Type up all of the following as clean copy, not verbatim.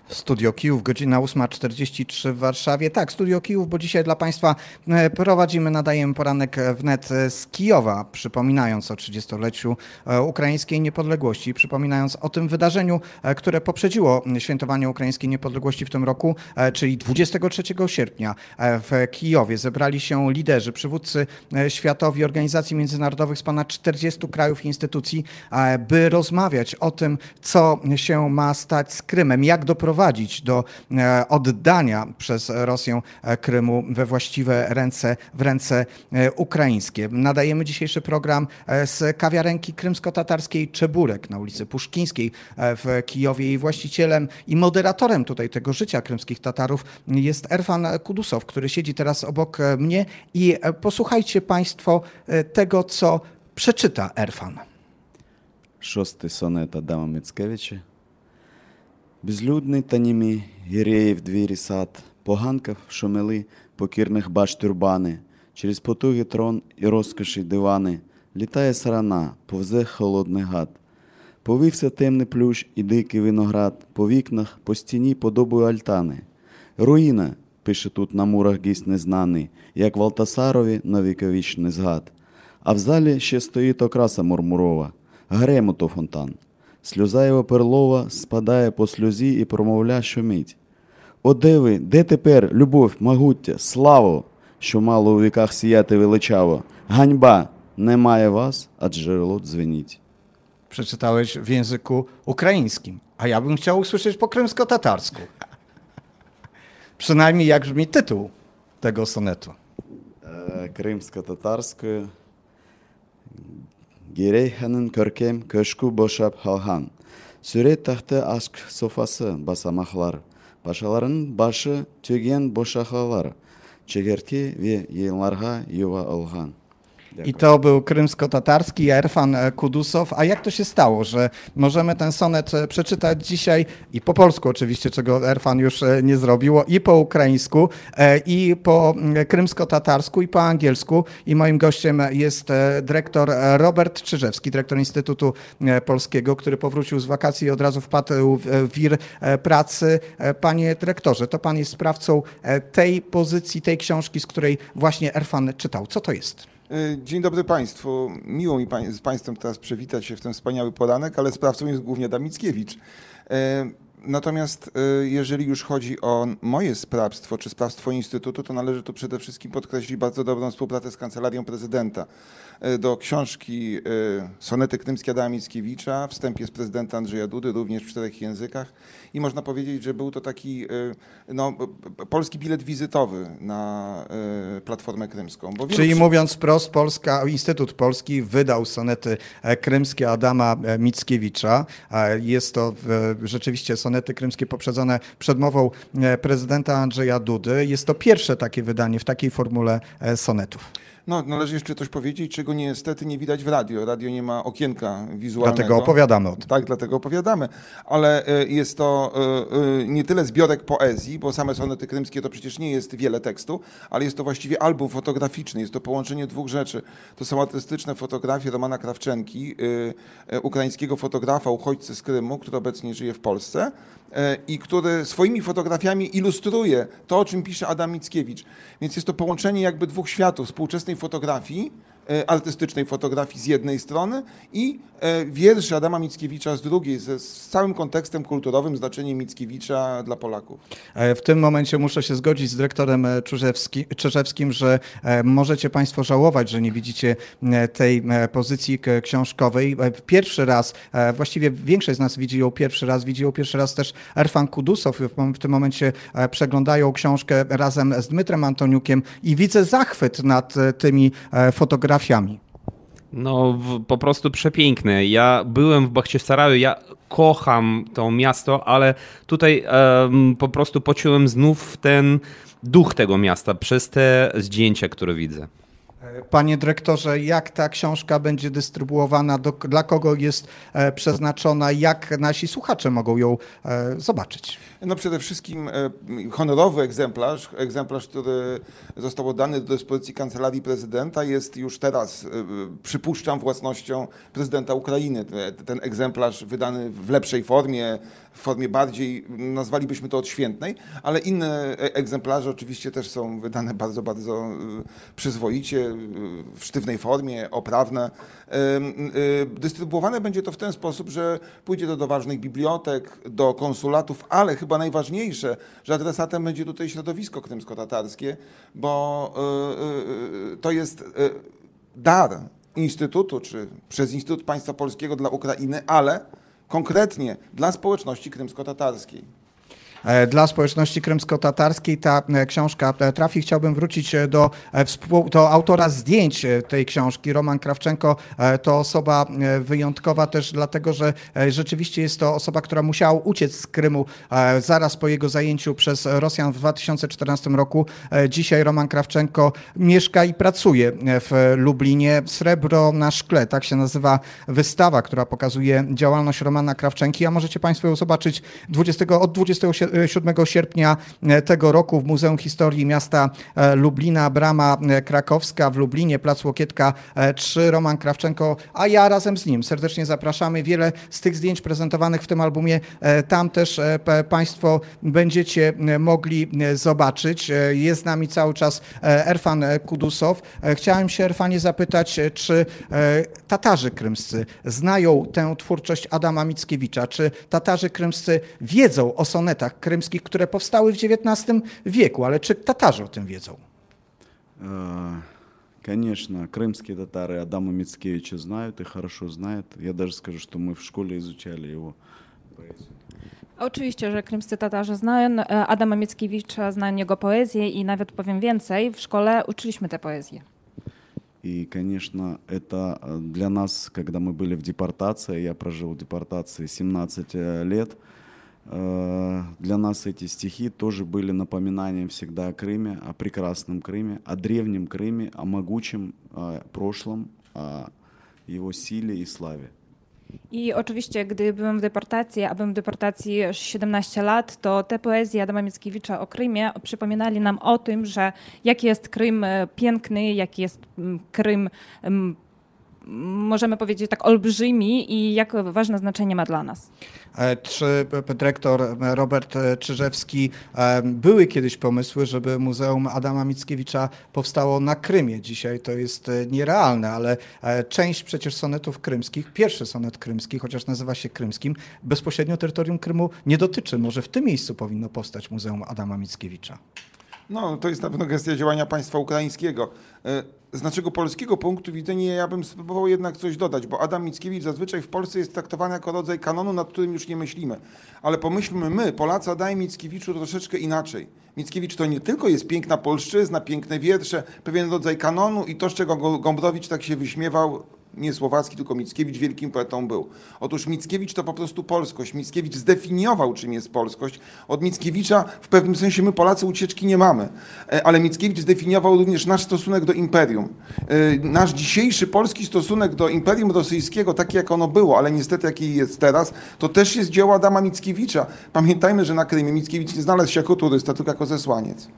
Studio Kijów, godzina 8:43 w Warszawie. Tak, Studio Kijów, bo dzisiaj dla Państwa nadajemy poranek wnet z Kijowa, przypominając o 30-leciu ukraińskiej niepodległości, przypominając o tym wydarzeniu, które poprzedziło świętowanie ukraińskiej niepodległości w tym roku, czyli 23 sierpnia w Kijowie zebrali się liderzy, przywódcy światowi organizacji międzynarodowych z ponad 40 krajów i instytucji, by rozmawiać o tym, co się ma stać z Krymem, jak doprowadzić do oddania przez Rosję Krymu we właściwe ręce, w ręce ukraińskie. Nadajemy dzisiejszy program z kawiarenki krymsko-tatarskiej Czeburek na ulicy Puszkińskiej w Kijowie. Jej właścicielem i moderatorem tutaj tego życia krymskich Tatarów jest Erfan Kudusow, który siedzi teraz obok mnie i posłuchajcie Państwo tego, co przeczyta Erfan. 6 сонет Адама Мицкевича. Безлюдний та німі, гіреїв двірі сад, поганкав шумели, покірних баш тюрбани, через потуги трон і розкоші дивани, літає сарана, повзе холодний гад. Повився темний плющ і дикий виноград, по вікнах, по стіні подобою альтани. Руїна, пише тут на мурах гість незнаний, як Валтасарові на віковічний згад. А в залі ще стоїть окраса мурмурова, гремото фонтан. Сльоза його перлова спадає по сльозі і промовля щомить. О, де ви, де тепер, любов, могуття, славу, що мало у віках сіяти величаво? Ганьба, немає вас, а джерело дзвеніть. Przeczytałeś w języku ukraińskim, a ja bym chciał usłyszeć po krymsko-tatarsku. Przynajmniej jak brzmi tytuł tego sonetu. Кримсько-татарською. Герейханın көркем köşkü boşap halhan. Süre tahtı aşk sofası basamaklar. Paşaların başı tügen boşaklalar. Çekertki ve yayınlarga yuva olgan. I to był krymsko-tatarski Erfan Kudusow. A jak to się stało, że możemy ten sonet przeczytać dzisiaj i po polsku oczywiście, czego Erfan już nie zrobiło, i po ukraińsku, i po krymsko-tatarsku, i po angielsku. I moim gościem jest dyrektor Robert Czyżewski, dyrektor Instytutu Polskiego, który powrócił z wakacji i od razu wpadł w wir pracy. Panie dyrektorze, to pan jest sprawcą tej pozycji, tej książki, z której właśnie Erfan czytał. Co to jest? Dzień dobry Państwu. Miło mi z Państwem teraz przywitać się w ten wspaniały poranek, ale sprawcą jest głównie Adam Mickiewicz. Natomiast jeżeli już chodzi o moje sprawstwo, czy sprawstwo Instytutu, to należy tu przede wszystkim podkreślić bardzo dobrą współpracę z Kancelarią Prezydenta. Do książki Sonety krymskie Adama Mickiewicza wstęp jest prezydenta Andrzeja Dudy, również w 4 językach. I można powiedzieć, że był to taki polski bilet wizytowy na Platformę Krymską. Czyli mówiąc wprost, Instytut Polski wydał sonety krymskie Adama Mickiewicza. Jest to rzeczywiście sonety krymskie poprzedzone przedmową prezydenta Andrzeja Dudy. Jest to pierwsze takie wydanie w takiej formule sonetów. No, należy jeszcze coś powiedzieć, czego niestety nie widać w radio. Radio nie ma okienka wizualnego. Dlatego opowiadamy o tym. Tak, dlatego opowiadamy. Ale jest to nie tyle zbiorek poezji, bo same sonety krymskie to przecież nie jest wiele tekstu, ale jest to właściwie album fotograficzny. Jest to połączenie 2 rzeczy. To są artystyczne fotografie Romana Krawczenki, ukraińskiego fotografa, uchodźcy z Krymu, który obecnie żyje w Polsce i który swoimi fotografiami ilustruje to, o czym pisze Adam Mickiewicz. Więc jest to połączenie jakby 2 światów, współczesnej fotografii, artystycznej fotografii z jednej strony i wierszy Adama Mickiewicza z drugiej, z całym kontekstem kulturowym, znaczeniem Mickiewicza dla Polaków. W tym momencie muszę się zgodzić z dyrektorem Czyżewskim, że możecie Państwo żałować, że nie widzicie tej pozycji książkowej. Pierwszy raz, właściwie większość z nas widzi ją pierwszy raz też Erfan Kudusow. W tym momencie przeglądają książkę razem z Dmytrem Antoniukiem i widzę zachwyt nad tymi fotografiami. No po prostu przepiękne. Ja byłem w Bachczysaraju, ja kocham to miasto, ale tutaj po prostu poczułem znów ten duch tego miasta przez te zdjęcia, które widzę. Panie dyrektorze, jak ta książka będzie dystrybuowana, dla kogo jest przeznaczona, jak nasi słuchacze mogą ją zobaczyć? No przede wszystkim honorowy egzemplarz, który został oddany do dyspozycji Kancelarii Prezydenta, jest już teraz, przypuszczam, własnością prezydenta Ukrainy. Ten egzemplarz wydany w lepszej formie, w formie bardziej, nazwalibyśmy to odświętnej, ale inne egzemplarze oczywiście też są wydane bardzo, bardzo przyzwoicie, w sztywnej formie, oprawne. Dystrybuowane będzie to w ten sposób, że pójdzie to do ważnych bibliotek, do konsulatów, ale chyba najważniejsze, że adresatem będzie tutaj środowisko krymsko-tatarskie, bo to jest dar Instytutu, czy przez Instytut Państwa Polskiego dla Ukrainy, ale konkretnie dla społeczności krymsko-tatarskiej. Dla społeczności krymsko-tatarskiej ta książka trafi. Chciałbym wrócić do autora zdjęć tej książki. Roman Krawczenko to osoba wyjątkowa też dlatego, że rzeczywiście jest to osoba, która musiała uciec z Krymu zaraz po jego zajęciu przez Rosjan w 2014 roku. Dzisiaj Roman Krawczenko mieszka i pracuje w Lublinie. Srebro na szkle, tak się nazywa wystawa, która pokazuje działalność Romana Krawczenki, a możecie Państwo ją zobaczyć od 27 sierpnia tego roku w Muzeum Historii Miasta Lublina, Brama Krakowska w Lublinie, Plac Łokietka 3, Roman Krawczenko, a ja razem z nim serdecznie zapraszamy. Wiele z tych zdjęć prezentowanych w tym albumie tam też Państwo będziecie mogli zobaczyć. Jest z nami cały czas Erfan Kudusow. Chciałem się, Erfanie, zapytać, czy Tatarzy krymscy znają tę twórczość Adama Mickiewicza? Czy Tatarzy krymscy wiedzą o sonetach krymskich, które powstały w XIX wieku, ale czy Tatarzy o tym wiedzą? Конечно, крымские татары Адама Мицкевича знают и хорошо знают. Я даже скажу, что мы в школе изучали его поэзию. Oczywiście, że krymscy Tatarzy znają Adama Mickiewicza, znają jego poezję i nawet powiem więcej, w szkole uczyliśmy tę poezję. И, конечно, это для нас, когда мы были в депортации, я прожил в депортации 17 лет, для нас эти стихи тоже были напоминанием всегда о Крыме, о прекрасном Крыме, о древнем Крыме, о могучем прошлом, о его силе и славе. I oczywiście, gdy byłem w deportacji, a byłem w deportacji 17 lat, to te poezje Adama Mickiewicza o Krymie przypominali nam o tym, że jaki jest Krym piękny, jaki jest Krym, możemy powiedzieć tak, olbrzymi i jak ważne znaczenie ma dla nas. Czy dyrektor Robert Czyżewski, były kiedyś pomysły, żeby Muzeum Adama Mickiewicza powstało na Krymie? Dzisiaj to jest nierealne, ale część przecież sonetów krymskich, pierwszy sonet krymski, chociaż nazywa się krymskim, bezpośrednio terytorium Krymu nie dotyczy. Może w tym miejscu powinno powstać Muzeum Adama Mickiewicza? No, to jest na pewno gestia działania państwa ukraińskiego. Z naszego polskiego punktu widzenia ja bym spróbował jednak coś dodać, bo Adam Mickiewicz zazwyczaj w Polsce jest traktowany jako rodzaj kanonu, nad którym już nie myślimy. Ale pomyślmy my, Polacy, o Adamie Mickiewiczu troszeczkę inaczej. Mickiewicz to nie tylko jest piękna polszczyzna, piękne wiersze, pewien rodzaj kanonu i to, z czego Gombrowicz tak się wyśmiewał, nie Słowacki, tylko Mickiewicz wielkim poetą był. Otóż Mickiewicz to po prostu polskość. Mickiewicz zdefiniował, czym jest polskość. Od Mickiewicza w pewnym sensie my Polacy ucieczki nie mamy. Ale Mickiewicz zdefiniował również nasz stosunek do imperium. Nasz dzisiejszy polski stosunek do imperium rosyjskiego, taki jak ono było, ale niestety jaki jest teraz, to też jest dzieło Adama Mickiewicza. Pamiętajmy, że na Krymie Mickiewicz nie znalazł się jako turysta, tylko jako zesłaniec.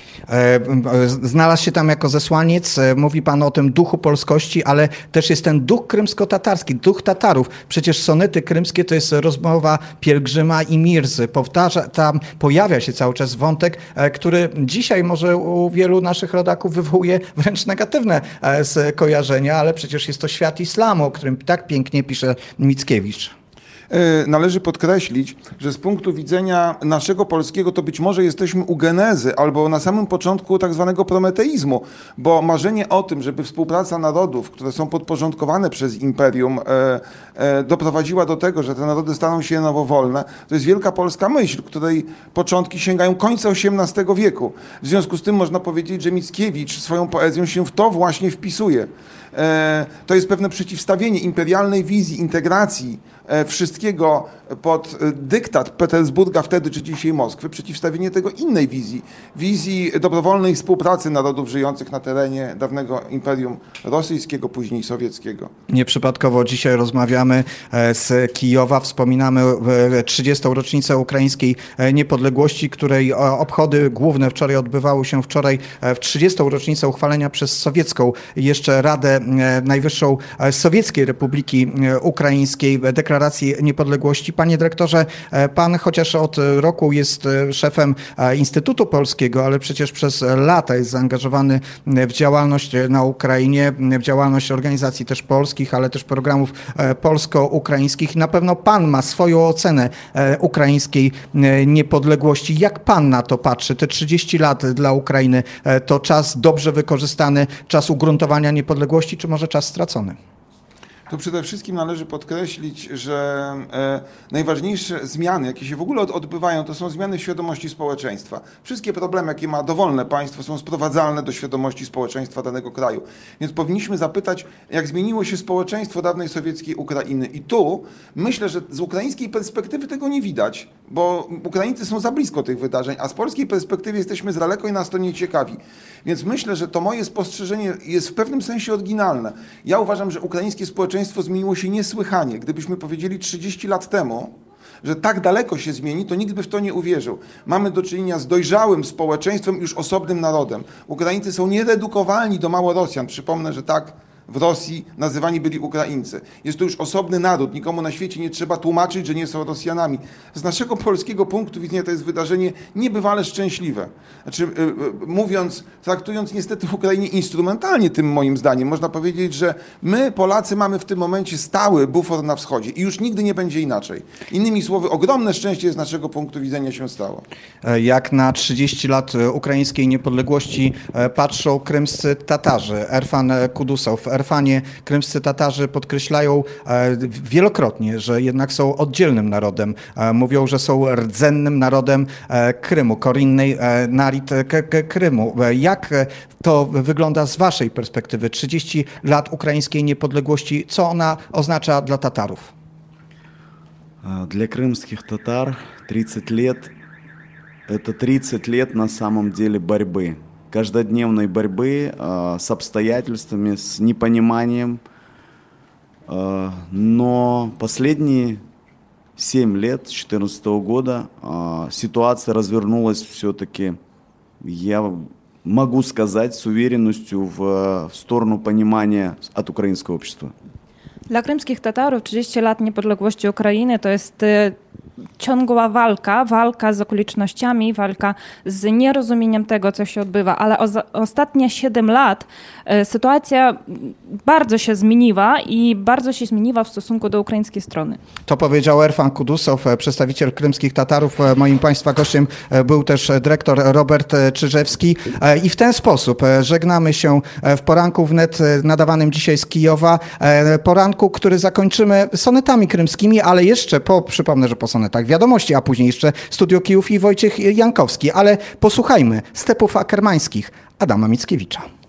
Znalazł się tam jako zesłaniec, mówi Pan o tym duchu polskości, ale też jest ten duch krymsko-tatarski, duch Tatarów. Przecież sonety krymskie to jest rozmowa pielgrzyma i Mirzy. Tam pojawia się cały czas wątek, który dzisiaj może u wielu naszych rodaków wywołuje wręcz negatywne skojarzenia, ale przecież jest to świat islamu, o którym tak pięknie pisze Mickiewicz. Należy podkreślić, że z punktu widzenia naszego polskiego to być może jesteśmy u genezy albo na samym początku tak zwanego prometeizmu, bo marzenie o tym, żeby współpraca narodów, które są podporządkowane przez imperium, doprowadziła do tego, że te narody staną się nowowolne, to jest wielka polska myśl, której początki sięgają końca XVIII wieku. W związku z tym można powiedzieć, że Mickiewicz swoją poezją się w to właśnie wpisuje. To jest pewne przeciwstawienie imperialnej wizji integracji wszystkiego pod dyktat Petersburga wtedy czy dzisiaj Moskwy, przeciwstawienie tego innej wizji dobrowolnej współpracy narodów żyjących na terenie dawnego Imperium Rosyjskiego, później sowieckiego. Nieprzypadkowo dzisiaj rozmawiamy z Kijowa, wspominamy 30. rocznicę ukraińskiej niepodległości, której obchody główne wczoraj odbywały się w 30. rocznicę uchwalenia przez sowiecką jeszcze Radę Najwyższą Sowieckiej Republiki Ukraińskiej deklaracji niepodległości. Panie dyrektorze, pan chociaż od roku jest szefem Instytutu Polskiego, ale przecież przez lata jest zaangażowany w działalność na Ukrainie, w działalność organizacji też polskich, ale też programów polsko-ukraińskich. Na pewno pan ma swoją ocenę ukraińskiej niepodległości. Jak pan na to patrzy? Te 30 lat dla Ukrainy to czas dobrze wykorzystany, czas ugruntowania niepodległości, czy może czas stracony? To przede wszystkim należy podkreślić, że najważniejsze zmiany, jakie się w ogóle odbywają, to są zmiany w świadomości społeczeństwa. Wszystkie problemy, jakie ma dowolne państwo, są sprowadzalne do świadomości społeczeństwa danego kraju. Więc powinniśmy zapytać, jak zmieniło się społeczeństwo dawnej sowieckiej Ukrainy. I tu myślę, że z ukraińskiej perspektywy tego nie widać, bo Ukraińcy są za blisko tych wydarzeń, a z polskiej perspektywy jesteśmy z daleko i nas to nie ciekawi. Więc myślę, że to moje spostrzeżenie jest w pewnym sensie oryginalne. Ja uważam, że ukraińskie społeczeństwo zmieniło się niesłychanie. Gdybyśmy powiedzieli 30 lat temu, że tak daleko się zmieni, to nikt by w to nie uwierzył. Mamy do czynienia z dojrzałym społeczeństwem, już osobnym narodem. Ukraińcy są nieredukowalni do Małorosjan. Przypomnę, że tak w Rosji nazywani byli Ukraińcy. Jest to już osobny naród. Nikomu na świecie nie trzeba tłumaczyć, że nie są Rosjanami. Z naszego polskiego punktu widzenia to jest wydarzenie niebywale szczęśliwe. Znaczy, traktując niestety Ukrainie instrumentalnie tym moim zdaniem, można powiedzieć, że my Polacy mamy w tym momencie stały bufor na wschodzie i już nigdy nie będzie inaczej. Innymi słowy, ogromne szczęście z naszego punktu widzenia się stało. Jak na 30 lat ukraińskiej niepodległości patrzą krymscy Tatarzy, Erfan Kudusow. W Erfanie krymscy Tatarzy podkreślają wielokrotnie, że jednak są oddzielnym narodem. Mówią, że są rdzennym narodem Krymu, korynnej narid Krymu. Jak to wygląda z waszej perspektywy? 30 lat ukraińskiej niepodległości, co ona oznacza dla Tatarów? Для крымских татар 30 лет – это 30 лет на самом деле борьбы. Каждодневной борьбы с обстоятельствами, с непониманием. Но последние 7 лет, с 2014 года, ситуация развернулась все-таки, я могу сказать с уверенностью, в сторону понимания от украинского общества. Dla krymskich Tatarów 30 lat niepodległości Ukrainy to jest ciągła walka z okolicznościami, walka z nierozumieniem tego, co się odbywa, ale ostatnie 7 lat sytuacja bardzo się zmieniła i bardzo się zmieniła w stosunku do ukraińskiej strony. To powiedział Erfan Kudusow, przedstawiciel krymskich Tatarów. Moim państwa gościem był też dyrektor Robert Czyżewski. I w ten sposób żegnamy się w poranku wnet nadawanym dzisiaj z Kijowa. Poranku, który zakończymy sonetami krymskimi, ale jeszcze przypomnę, że po sonetach wiadomości, a później jeszcze Studio Kijów i Wojciech Jankowski. Ale posłuchajmy stepów akermańskich Adama Mickiewicza.